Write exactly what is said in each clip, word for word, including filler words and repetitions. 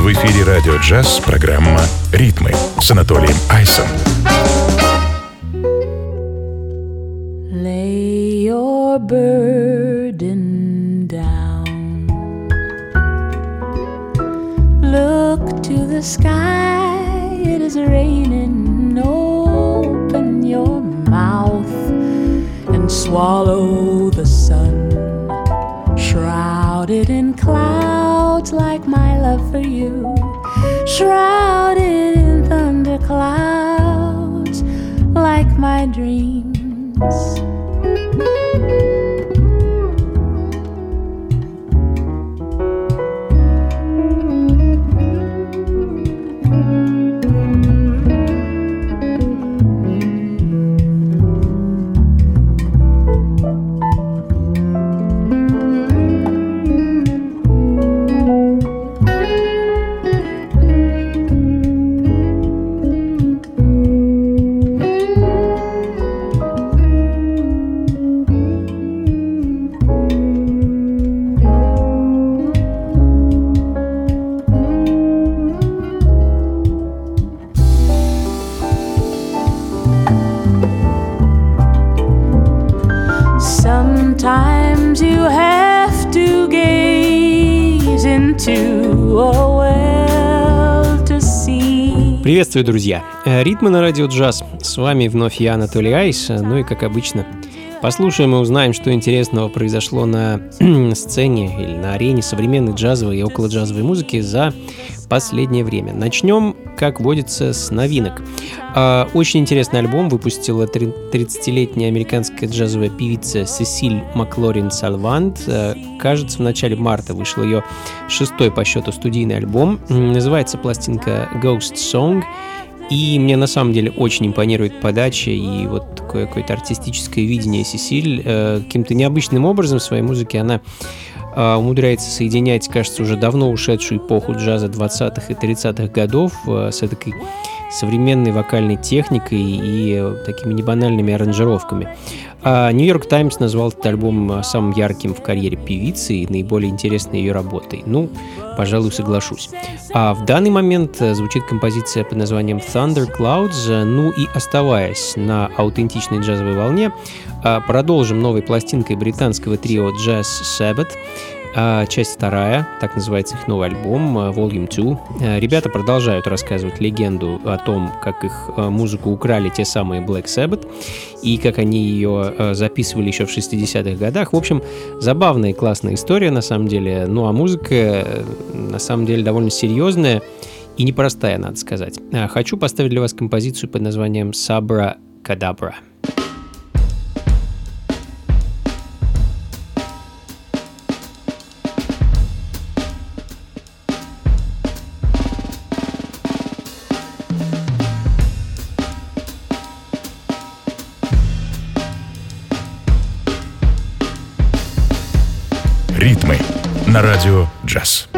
В эфире «Радио Джаз» программа «Ритмы» с Анатолием Айсом. Lay your burden down. Look to the sky, it is raining. Open your mouth and swallow the sun. Shrouded in clouds like my love for you. Shrouded in thunderclouds like my dreams. Sometimes you have to gaze into a well to see. Приветствую, друзья! Ритмы на радио джаз. С вами вновь я, Анатолий Айс. Ну и, как обычно, послушаем и узнаем, что интересного произошло на сцене или на арене современной джазовой и околоджазовой музыки за последнее время. Начнем, как водится, с новинок. Очень интересный альбом выпустила тридцатилетняя американская джазовая певица Сесиль Маклорин Салвант. Кажется, в начале марта вышел ее шестой по счету студийный альбом. Называется пластинка Ghost Song. И мне на самом деле очень импонирует подача и вот такое какое-то артистическое видение Сесиль. Каким-то необычным образом в своей музыке она умудряется соединять, кажется, уже давно ушедшую эпоху джаза двадцатых и тридцатых годов с этой современной вокальной техникой и такими небанальными аранжировками. Нью-Йорк Таймс назвал этот альбом самым ярким в карьере певицы и наиболее интересной ее работой. Ну, пожалуй, соглашусь. А в данный момент звучит композиция под названием Thunder Clouds. Ну и оставаясь на аутентичной джазовой волне, продолжим новой пластинкой британского трио Jazz Sabbath. Часть вторая, так называется их новый альбом, Volume два. Ребята продолжают рассказывать легенду о том, как их музыку украли те самые Black Sabbath и как они ее записывали еще в шестидесятых годах. В общем, забавная и классная история на самом деле. Ну а музыка на самом деле довольно серьезная и непростая, надо сказать. Хочу поставить для вас композицию под названием Sabra Cadabra. Ритмы на радио джаз.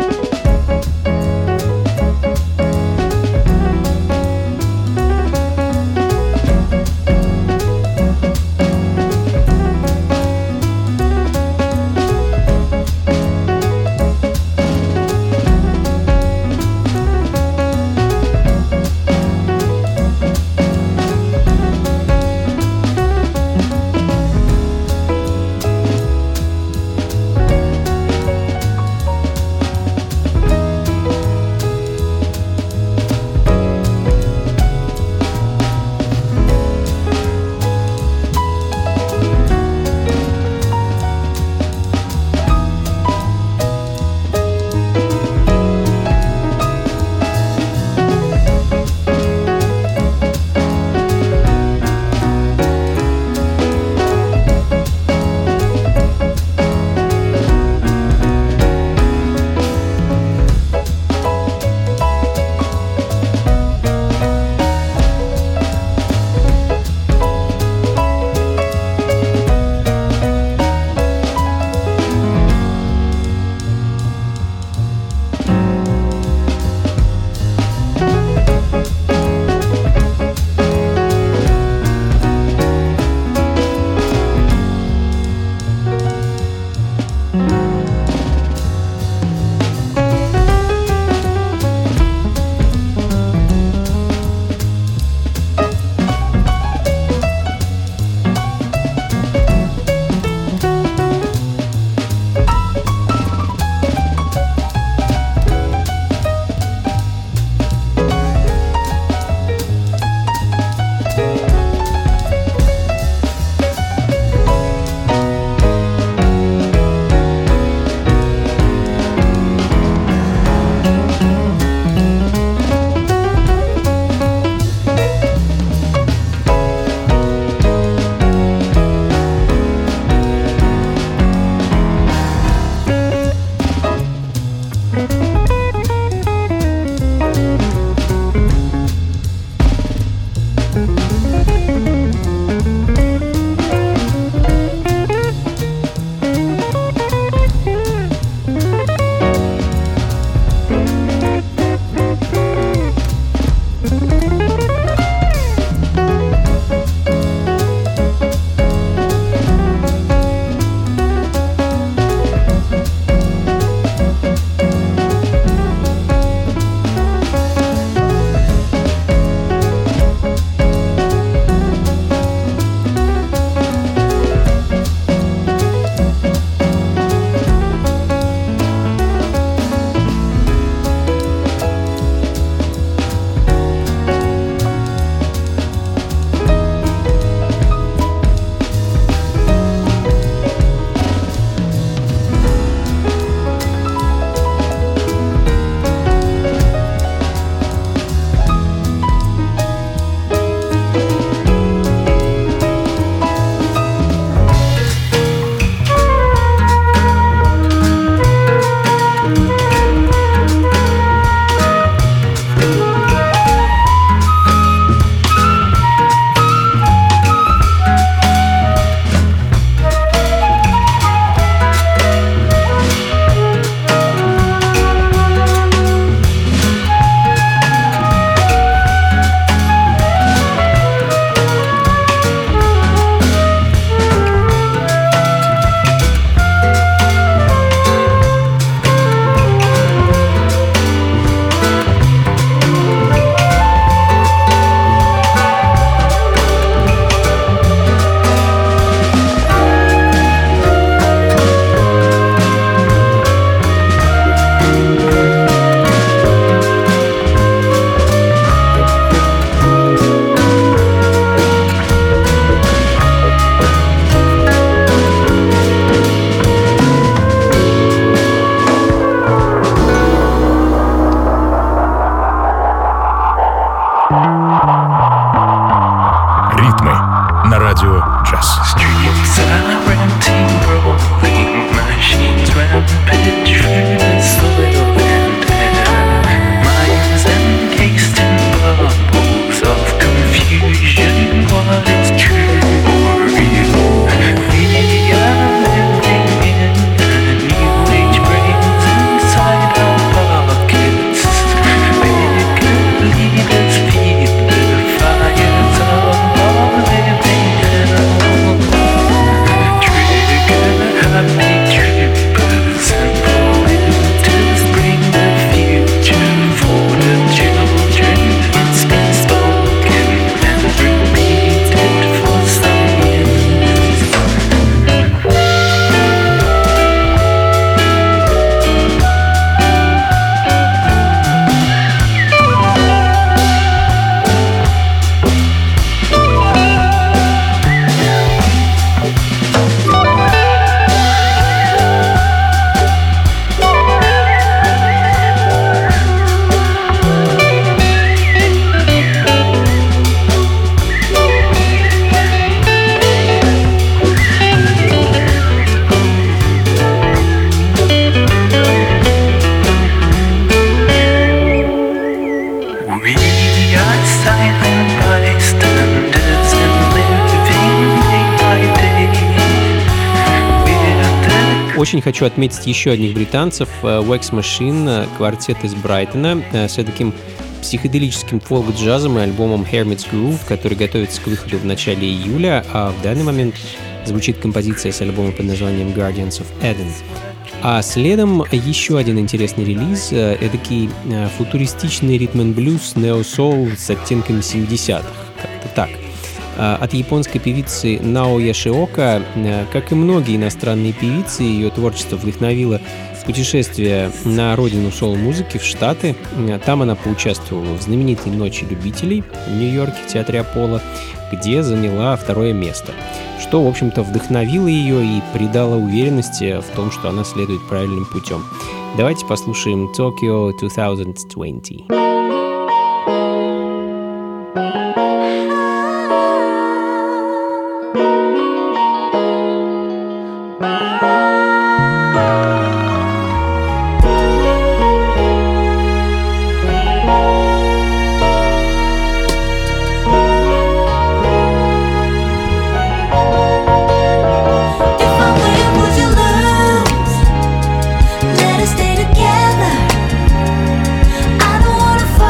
Очень хочу отметить еще одних британцев. Wax Machine, квартет из Брайтона, с таким психоделическим фолк-джазом и альбомом Hermit's Groove, который готовится к выходу в начале июля, а в данный момент звучит композиция с альбома под названием Guardians of Eden. А следом еще один интересный релиз, эдакий футуристичный ритм-н-блюз нео-соул с оттенками семидесятых, как-то так. От японской певицы Нао Яшиока, как и многие иностранные певицы, ее творчество вдохновило путешествие на родину соул-музыки в Штаты. Там она поучаствовала в знаменитой «Ночи любителей» в Нью-Йорке в театре Аполло, где заняла второе место, что, в общем-то, вдохновило ее и придало уверенности в том, что она следует правильным путем. Давайте послушаем Tokyo две тысячи двадцать. Let us stay together. I don't wanna fall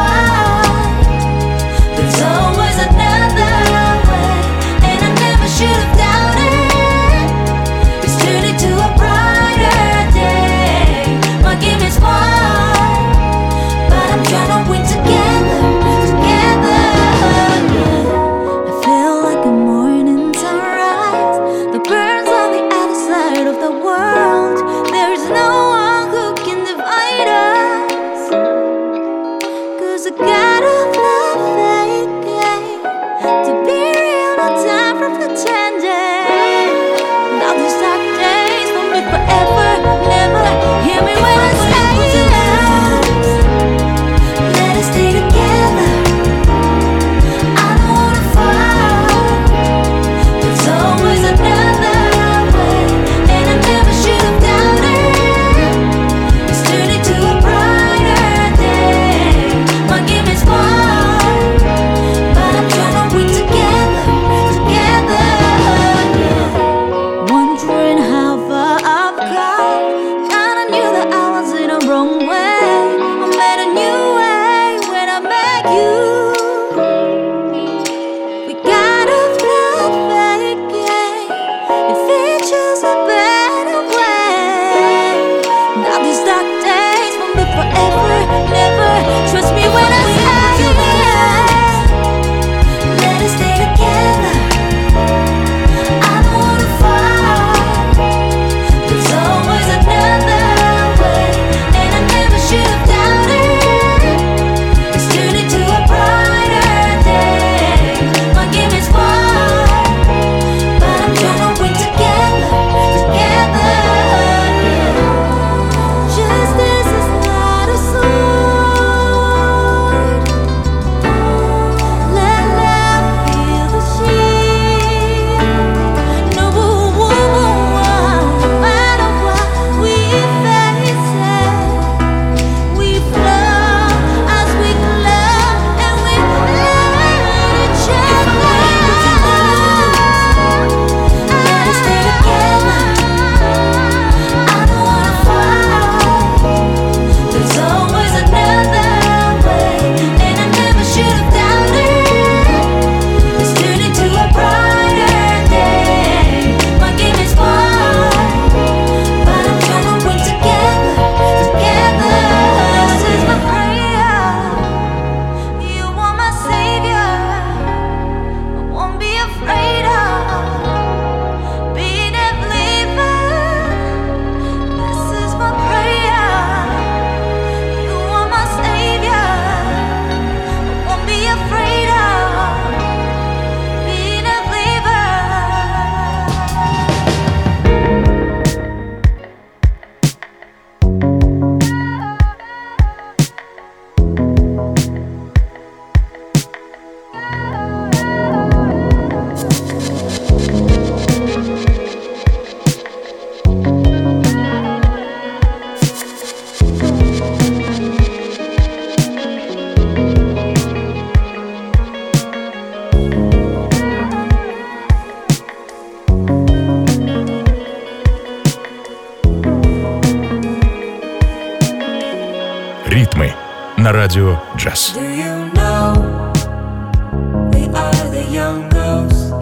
Ритмы на радио джаз. Do you know we are the young ghosts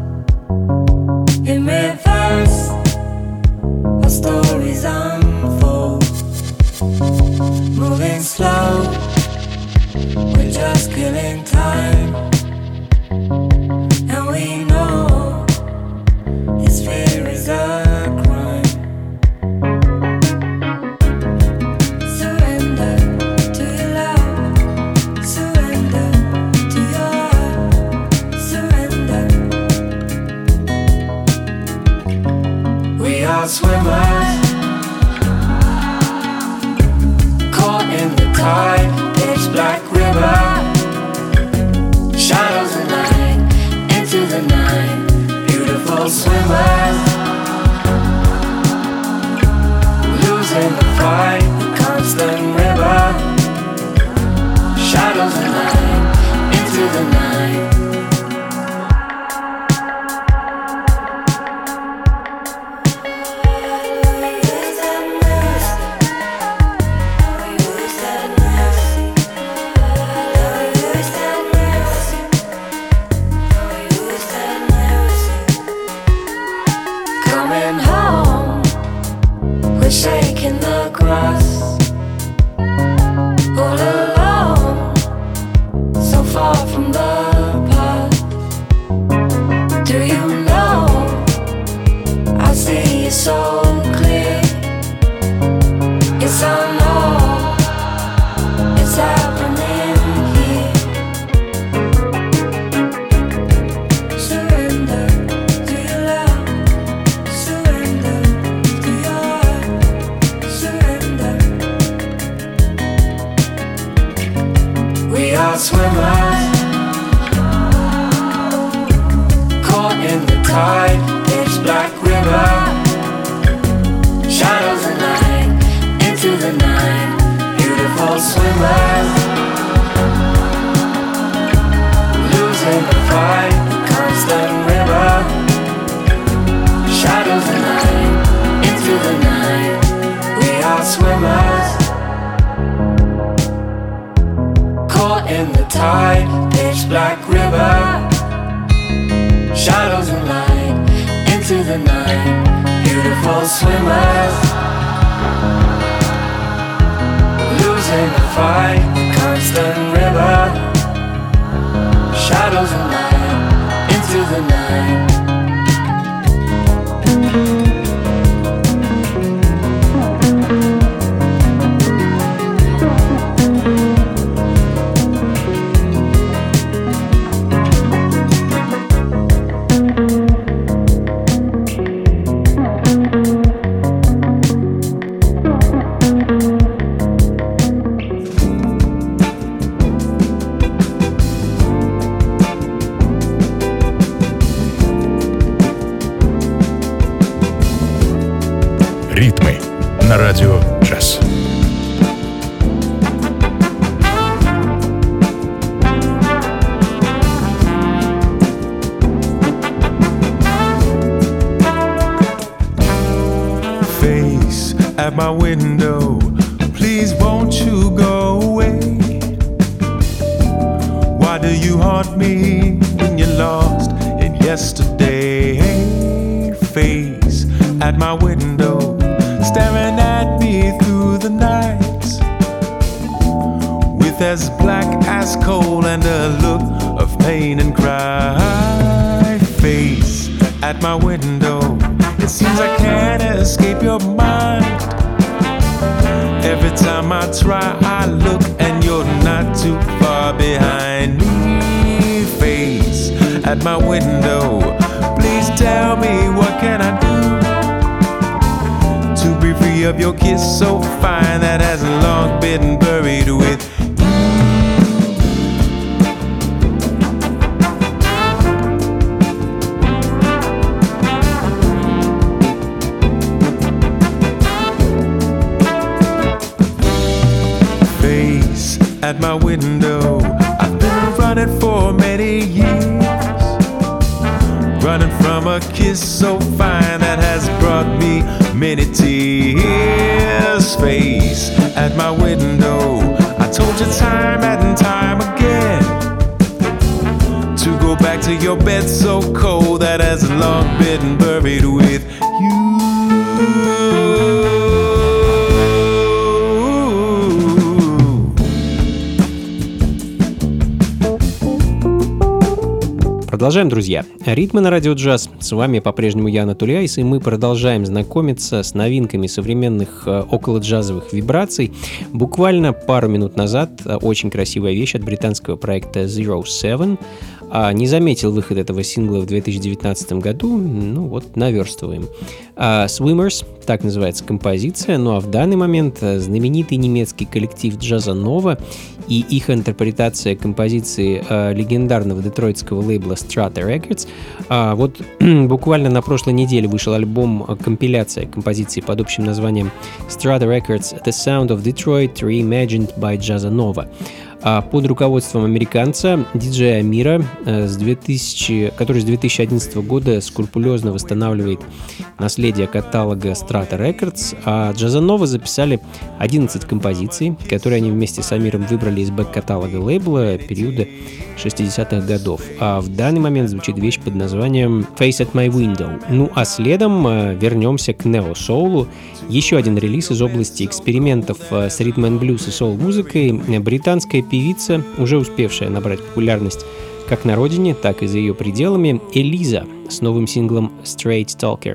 in reverse? Our stories unfold, moving slow. We're just killing time, and we know this fear is a crime. Surrender to your love, surrender to your heart, surrender. We are swimmers, caught in the tide, pitch black river, shadows and light into the night. Beautiful swimmers, losing the fight, the constant river, shadows and light into the night. Coming home, we're shaking the grass, all alone, so far from the past. Do you know, I see it so clear. Yes, I know, it's happening here. Surrender to your love, surrender to your heart, surrender. We are swimmers, caught in the tide, pitch black river, shadows and light into the night. Beautiful swimmers, losing the fight, constant river, shadows and light into the night. We are swimmers, caught in the tide, pitch black river, shadows and light into the night. Beautiful swimmers, losing the fight, constant river, shadows and light into the night. Ритмы на радио джаз. Face at my window, please won't you go away? Why do you haunt me when you're lost in yesterday? Face at my window, staring at me through the night, with as black as coal and a look of pain and cry. Face at my window, it seems I can't escape your mind. Every time I try, I look and you're not too far behind me. Face at my window, please tell me what can I do to be free of your kiss so fine that has long been buried with at my window. I've been running for many years, running from a kiss so fine that has brought me many tears. Face at my window. I told you time and time again to go back to your bed so cold that has long been buried with you. Продолжаем, друзья. Ритмы на радио джаз. С вами по-прежнему я, Анатолий Айс, и мы продолжаем знакомиться с новинками современных околоджазовых вибраций. Буквально пару минут назад очень красивая вещь от британского проекта Zero Seven. Не заметил выход этого сингла в две тысячи девятнадцатом году, ну вот, наверстываем. Swimmers, так называется композиция, ну а в данный момент знаменитый немецкий коллектив джаза Nova и их интерпретация композиции легендарного детройтского лейбла Strata Records. Вот буквально на прошлой неделе вышел альбом-компиляция композиции под общим названием Strata Records The Sound of Detroit Reimagined by Jazza Nova. Под руководством американца, диджея Амира, с две тысячи, который с две тысячи одиннадцатого года скрупулезно восстанавливает наследие каталога Strata Records, а Jazza Nova записали одиннадцать композиций, которые они вместе с Амиром выбрали из бэк-каталога лейбла периода шестидесятых годов. А в данный момент звучит вещь под названием Face at My Window. Ну а следом вернемся к нео-соулу. Еще один релиз из области экспериментов с ритм-н-блюз и соул-музыкой. Британская певица, уже успевшая набрать популярность как на родине, так и за ее пределами, Элиза с новым синглом Straight Talker.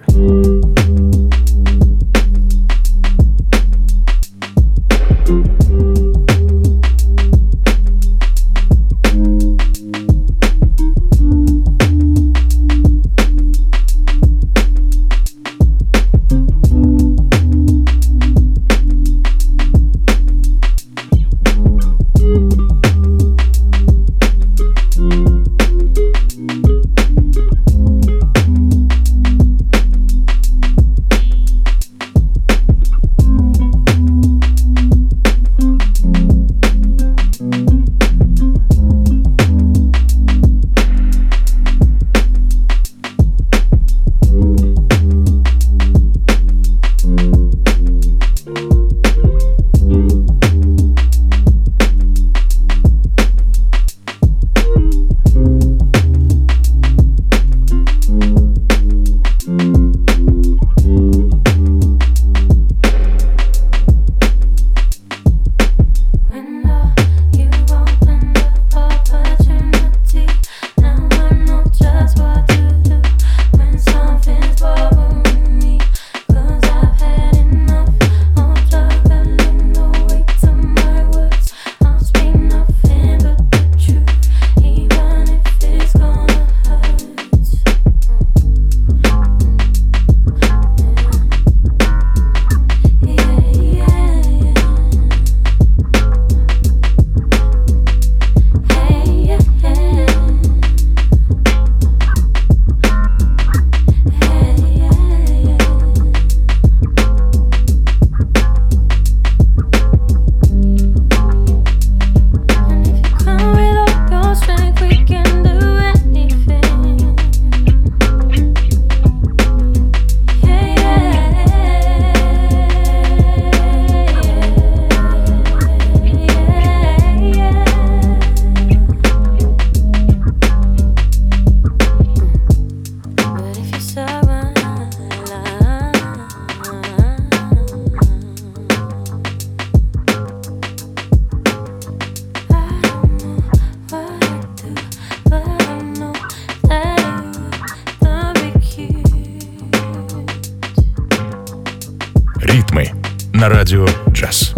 Ритмы на радио джаз.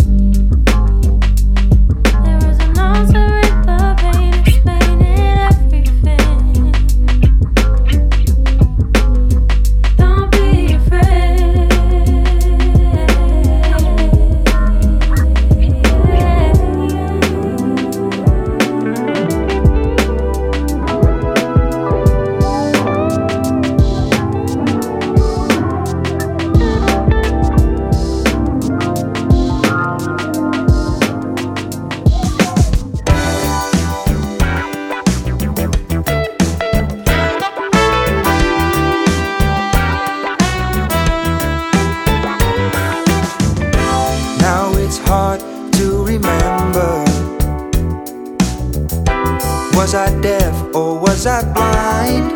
Was I deaf or was I blind?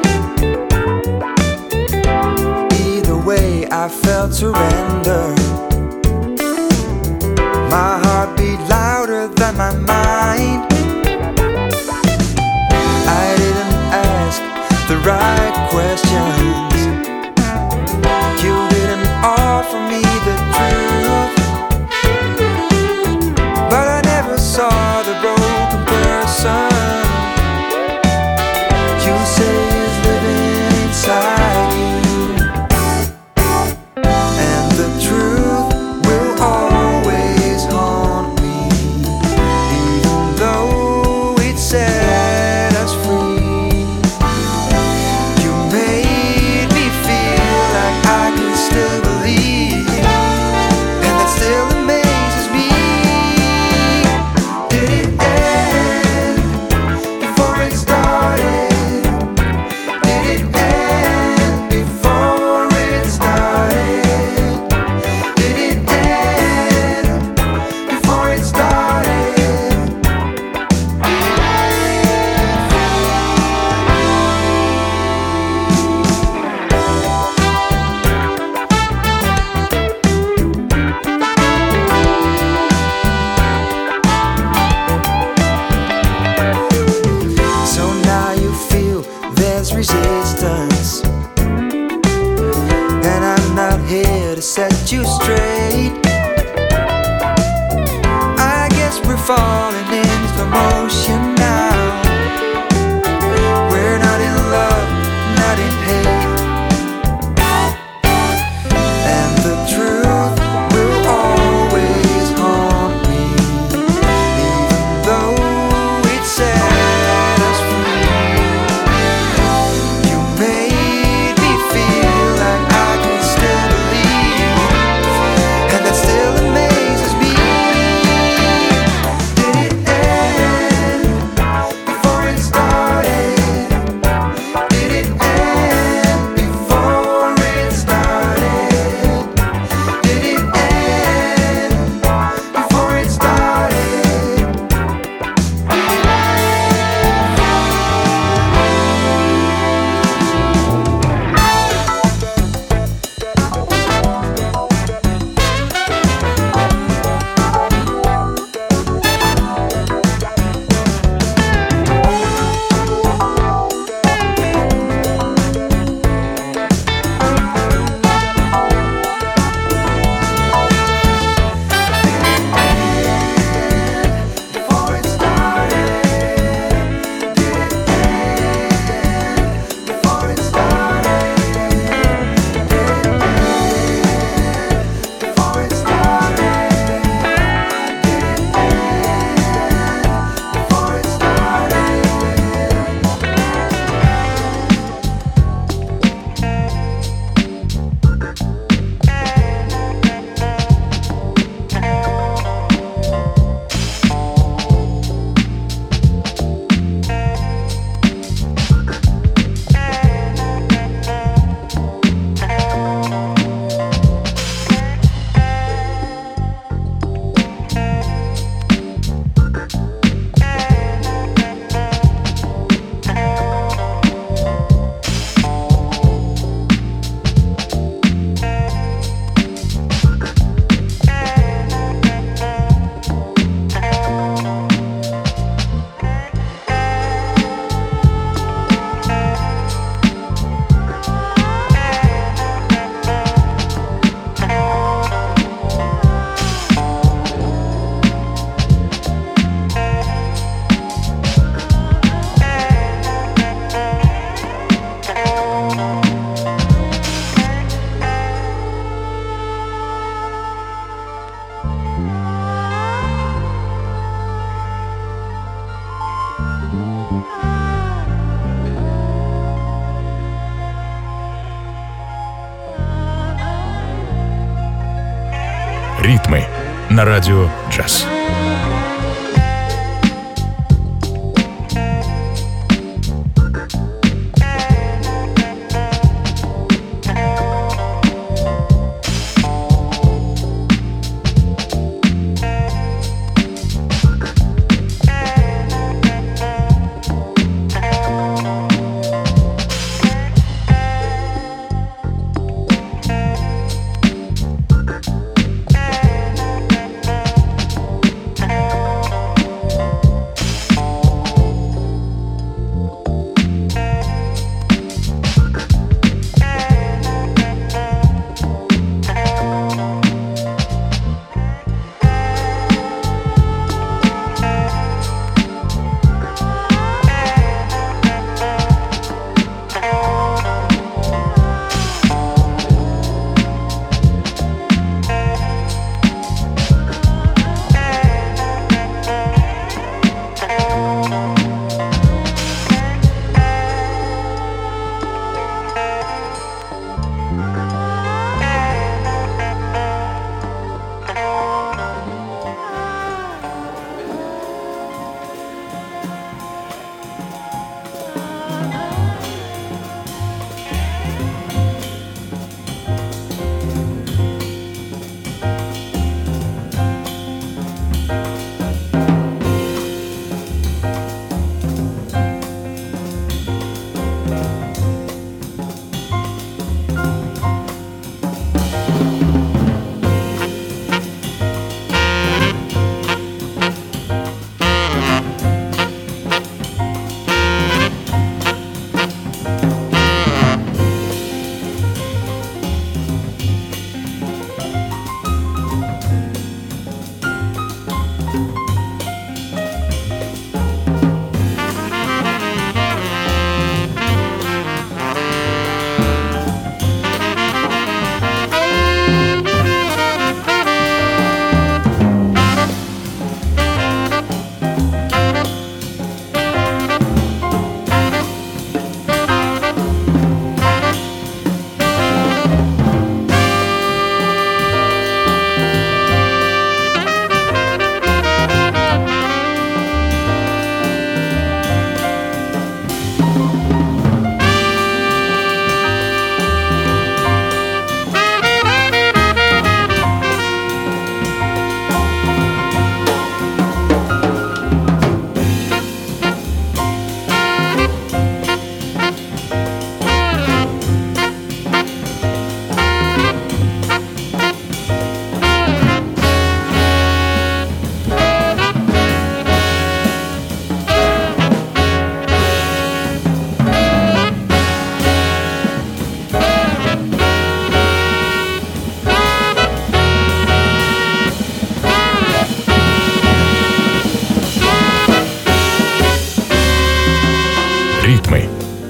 Either way, I felt surrender. My heart beat louder than my mind. I didn't ask the right questions. You didn't offer me the truth. But I never saw the broken person you say is living inside you. And the truth will always haunt me, even though it set us free. You made me feel like I can still believe, and that still amazes me. Did it end before it started? Did it end before it started? Did it end before it started? So now you feel there's resistance, and I'm not here to set you straight. I guess we're falling in slow motion now. We're not in love, not in hate. And the truth will always haunt me, even though it set us free. You made me feel like I can still believe, and that still amazes me. Did it end before it started? Did it end before it started? Did it end before it started? Before it started? Did it end before it started? Did it end before it started? Did it end before it started? Ритмы на радио «Джаз».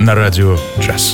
на радио «Джаз».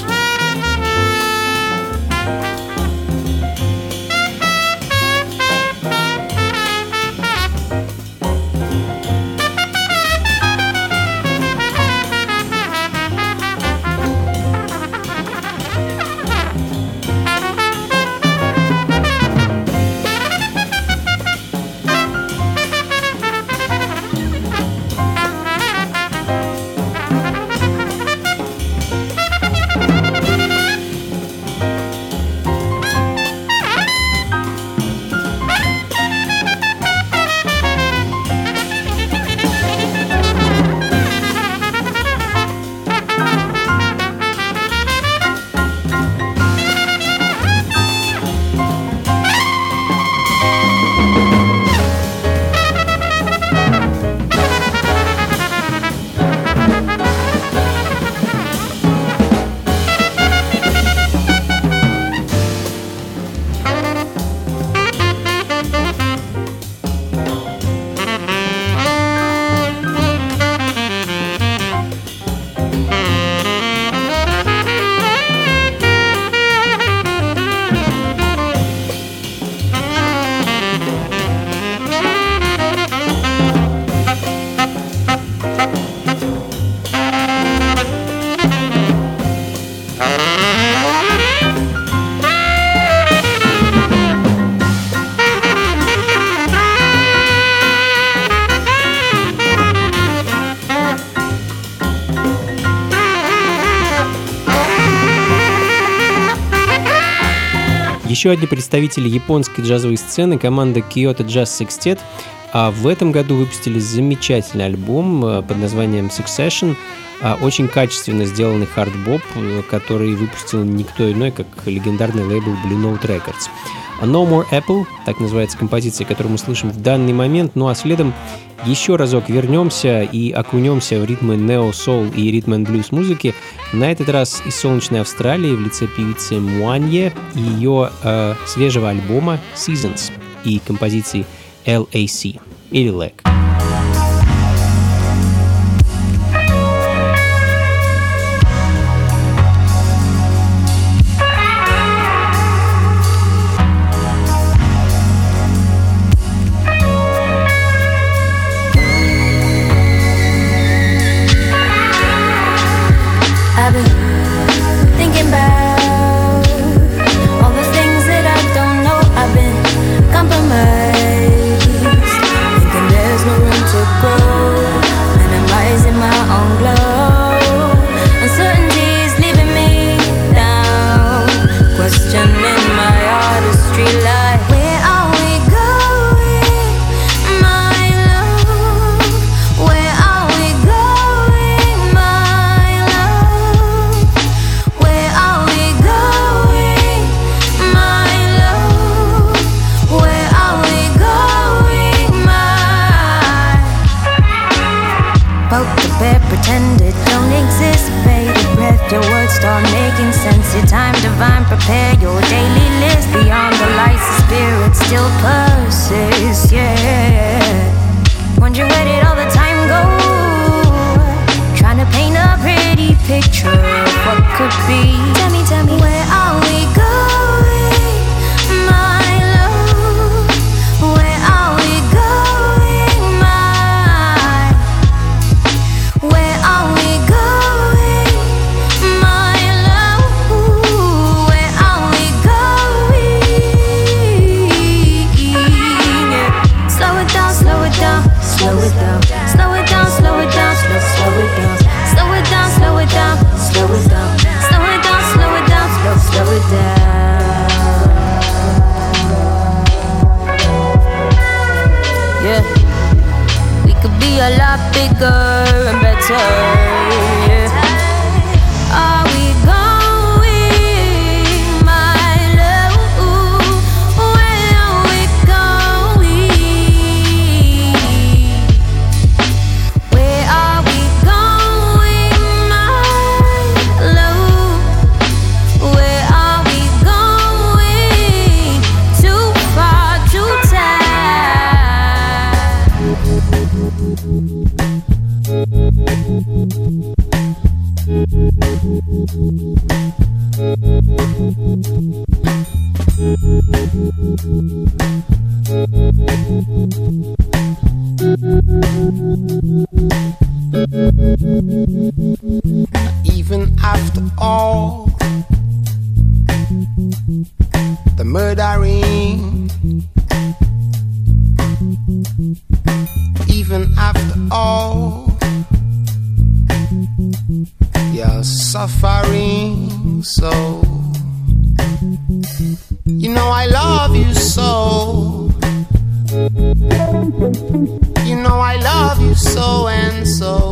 Еще одни представители японской джазовой сцены, команда Kyoto Jazz Sextet, а в этом году выпустили замечательный альбом под названием Succession, очень качественно сделанный хард-боп, который выпустил никто иной, как легендарный лейбл Blue Note Records. No More Apple, так называется композиция, которую мы слышим в данный момент, ну а следом еще разок вернемся и окунемся в ритмы нео-соул и ритм-н-блюз музыки, на этот раз из солнечной Австралии в лице певицы Муанье и ее э, свежего альбома Seasons и композиции эл эй си или эл эй си. Thank you. Even after all the murdering, even after all your suffering, so you know I love you so. You know I love you so and so.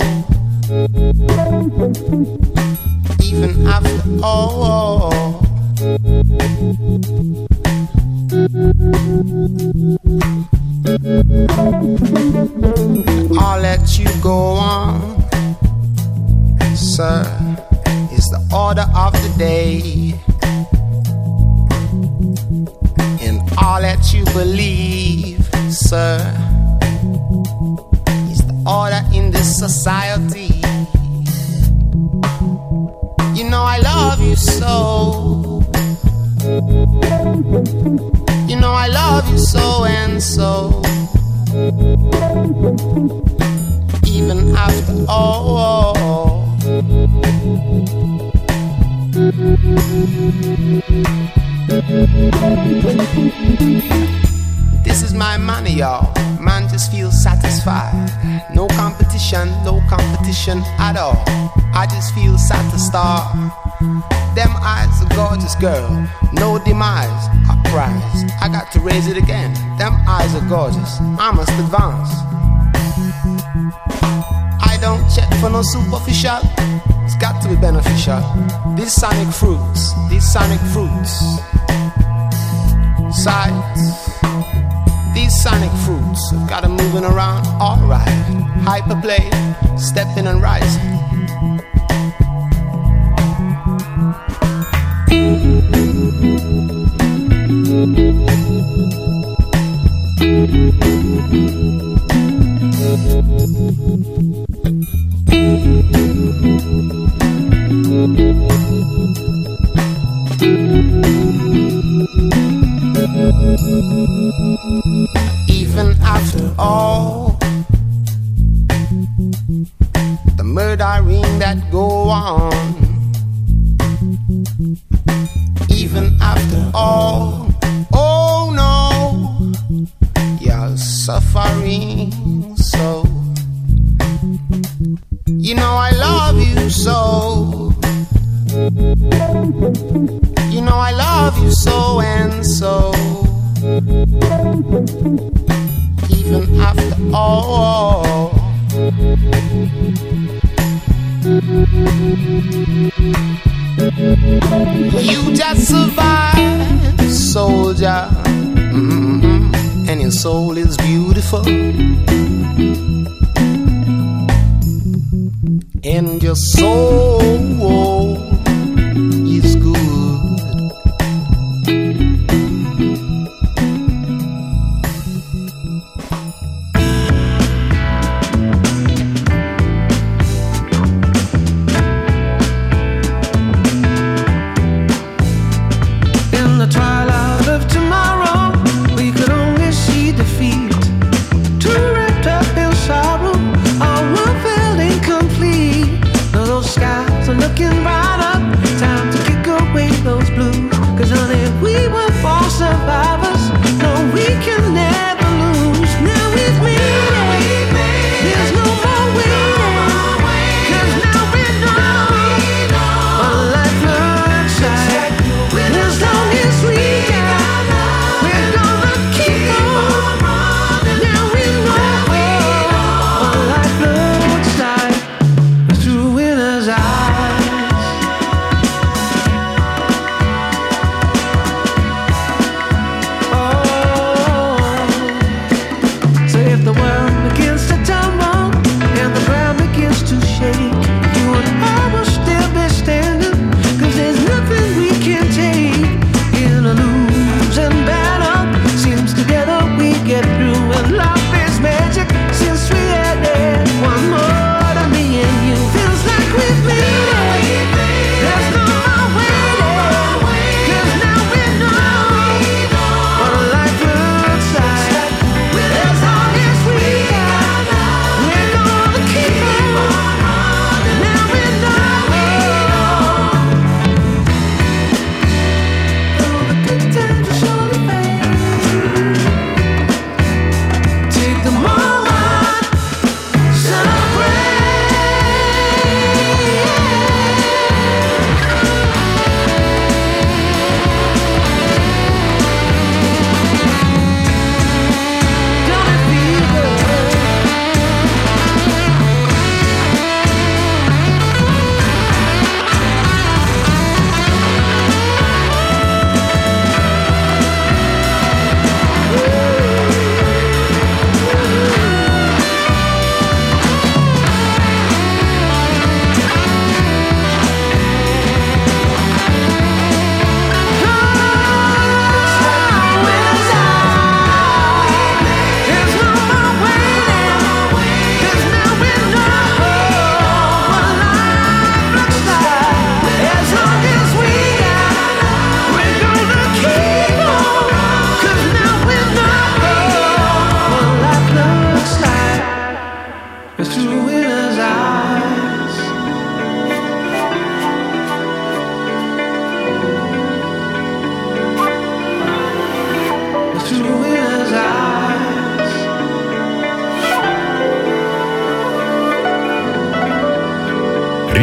Even after all, I'll let you go on, sir, is the order of the day. And I'll let you believe, sir, is the order in this society. You know I love you so. You know I love you so and so. Even after all, this is my money, y'all. Man just feels satisfied. No competition, no competition at all. I just feel satisfied. Them eyes, a gorgeous girl. No demise, a prize. I got to raise it again. Them eyes are gorgeous. I must advance. I don't check for no superficial. It's got to be beneficial. These sonic fruits, these sonic fruits. Sights. These sonic fruits have got 'em moving around, alright. Hyperplay, stepping and rising. Even after all the murdering that go on, even after all, oh no, you're suffering so. You know I love you so. You know I love you so and so. Even after all, you just survived, soldier. Mm-hmm. And your soul is beautiful, and your soul is good. Sky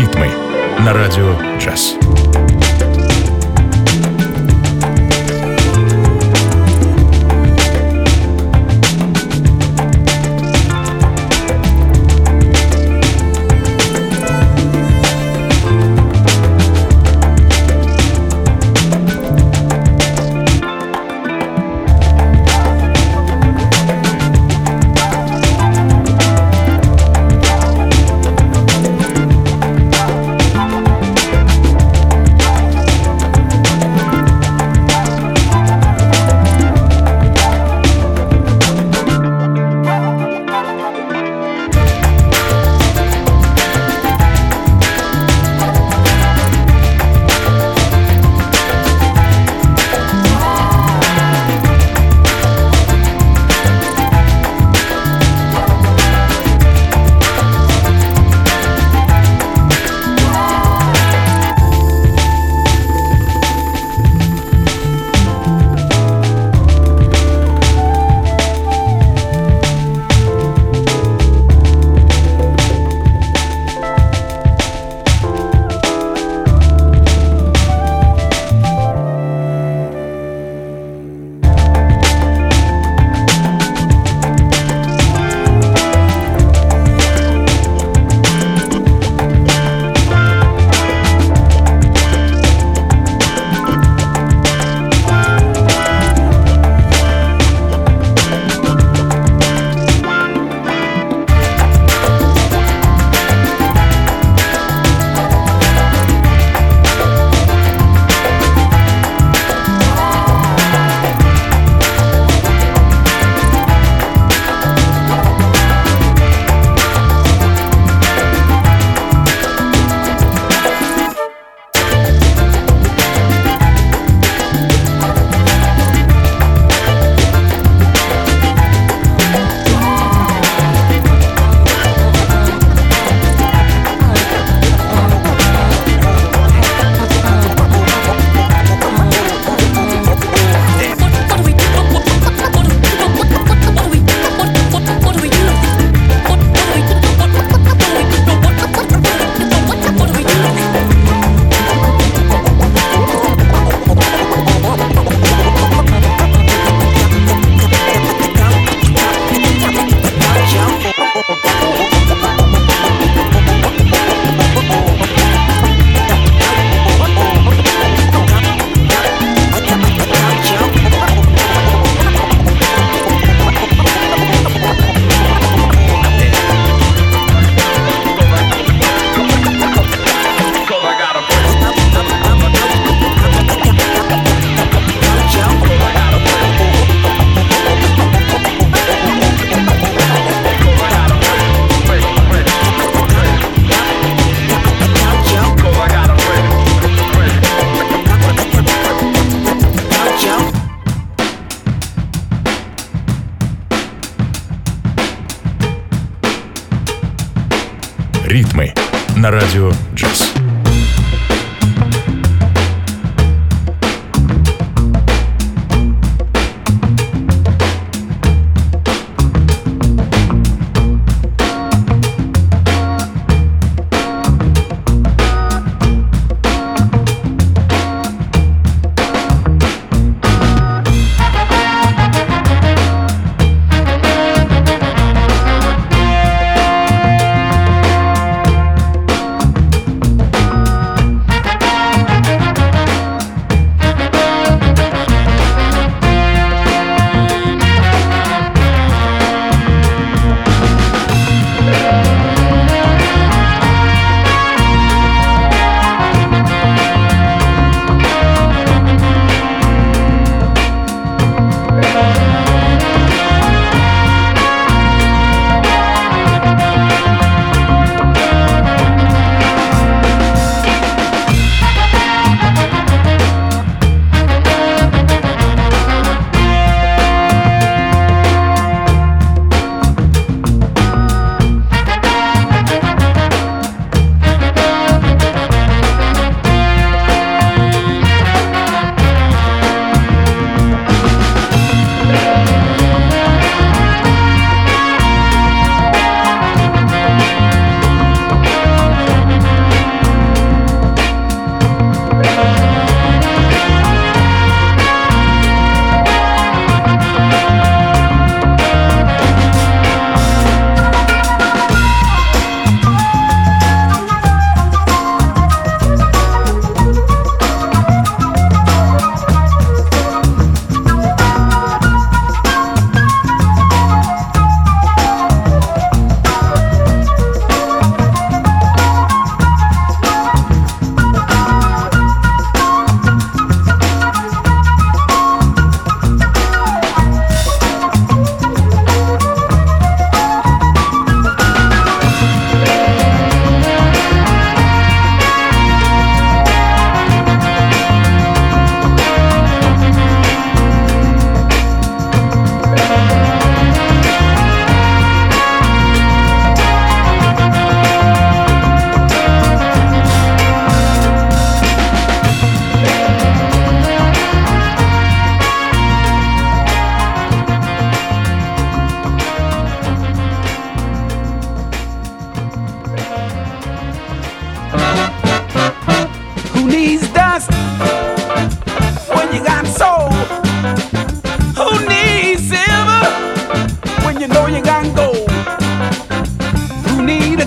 Ритмы на радио джаз. Ритмы на радио джаз.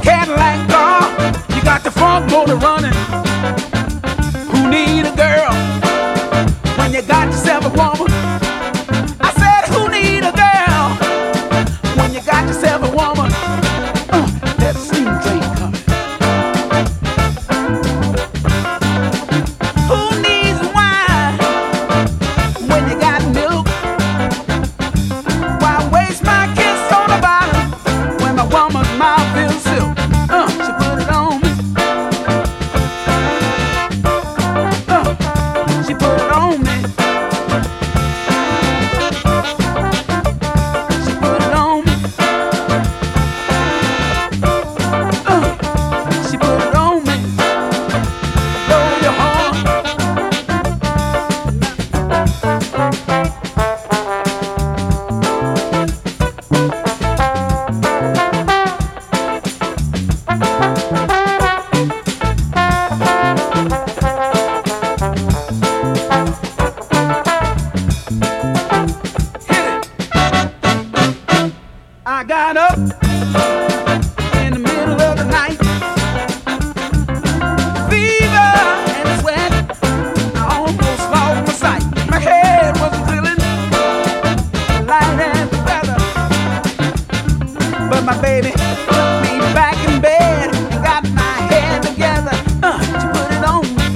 Cadillac car, you got the front motor running. Who need a girl when you got yourself a woman? I said, who need a girl when you got yourself a woman? Uh, that steam train coming. Who needs wine when you got milk? Why waste my kiss on the bottom when my woman's mouth feels silk? Uh, she put it on me. Uh, she put it on me. She put it on me. Uh, she put it on me. Blow your horn. I got up in the middle of the night, fever and sweat, I almost lost my sight. My head was feeling light as a feather, but my baby took me back in bed and got my head together. Uh, she put it on me.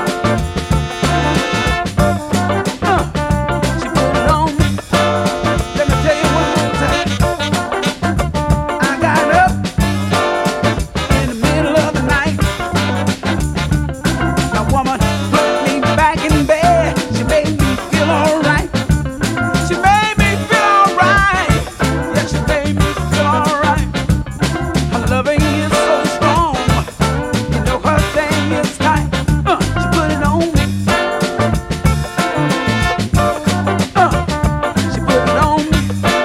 Uh, she put it on me. Let me tell you one more time. I got up in the middle of the night. My woman put me back in bed. She made me feel alright. She made me feel alright. Yeah, she made me feel alright. Her loving is so strong. You know her thing is tight. Uh, she put it on me. Uh, she put it on me.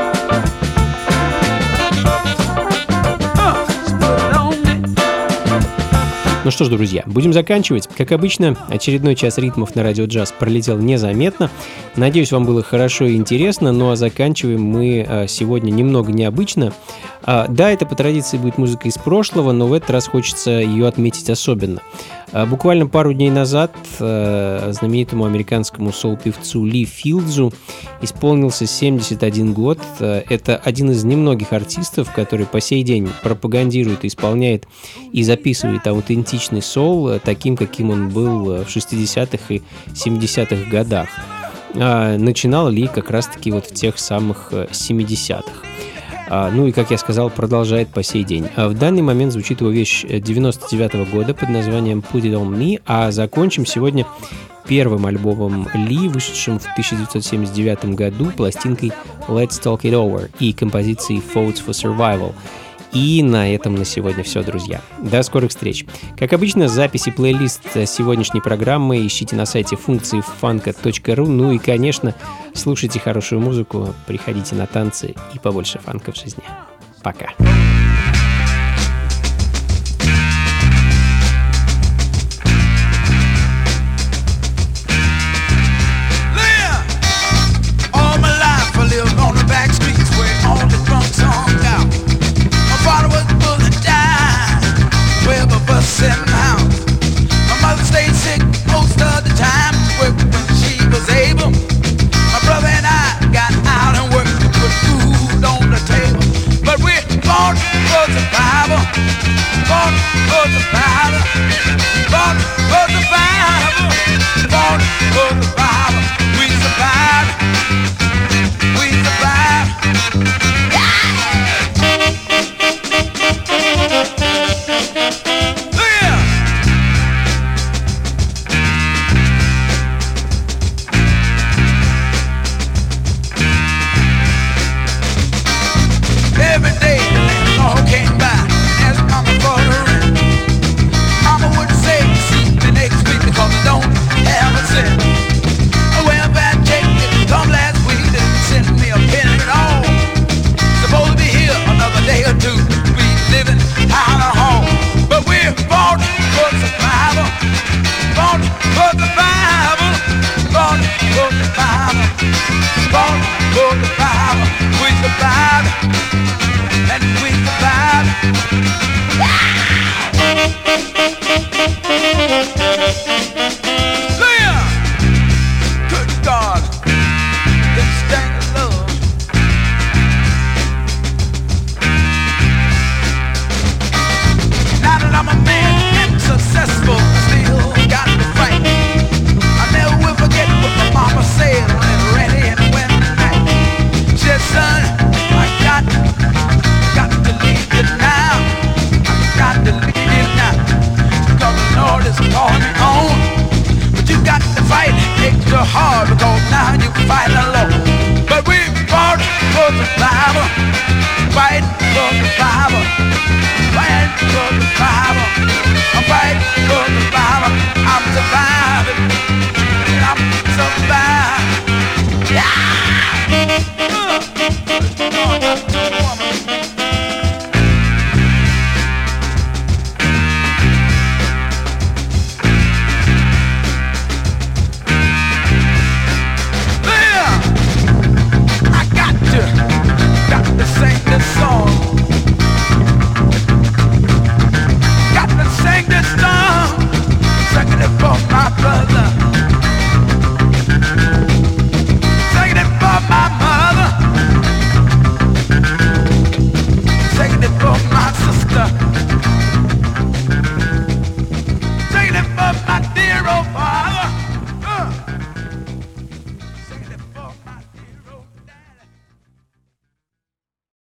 Uh, she put it on me. Ну что ж, друзья, будем заканчивать. Как обычно, очередной час ритмов на Радио Джаз пролетел незаметно. Надеюсь, вам было хорошо и интересно. Ну а заканчиваем мы а, сегодня немного необычно. А, да, это по традиции будет музыка из прошлого, но в этот раз хочется ее отметить особенно. А, буквально пару дней назад а, знаменитому американскому соул-певцу Ли Филдзу исполнился семьдесят один год. А, это один из немногих артистов, который по сей день пропагандирует, исполняет и записывает аутентичный соул а, таким, каким он был в шестидесятых и семидесятых годах. А, начинал Ли как раз-таки вот в тех самых семидесятых. А, ну и, как я сказал, продолжает по сей день. А в данный момент звучит его вещь девяносто девятого года под названием Put It On Me, а закончим сегодня первым альбомом Ли, вышедшим в тысяча девятьсот семьдесят девятом году, пластинкой Let's Talk It Over и композицией Votes for Survival. И на этом на сегодня все, друзья. До скорых встреч. Как обычно, запись и плейлист сегодняшней программы ищите на сайте функции фанка точка ру. Ну и, конечно, слушайте хорошую музыку, приходите на танцы и побольше фанка в жизни. Пока.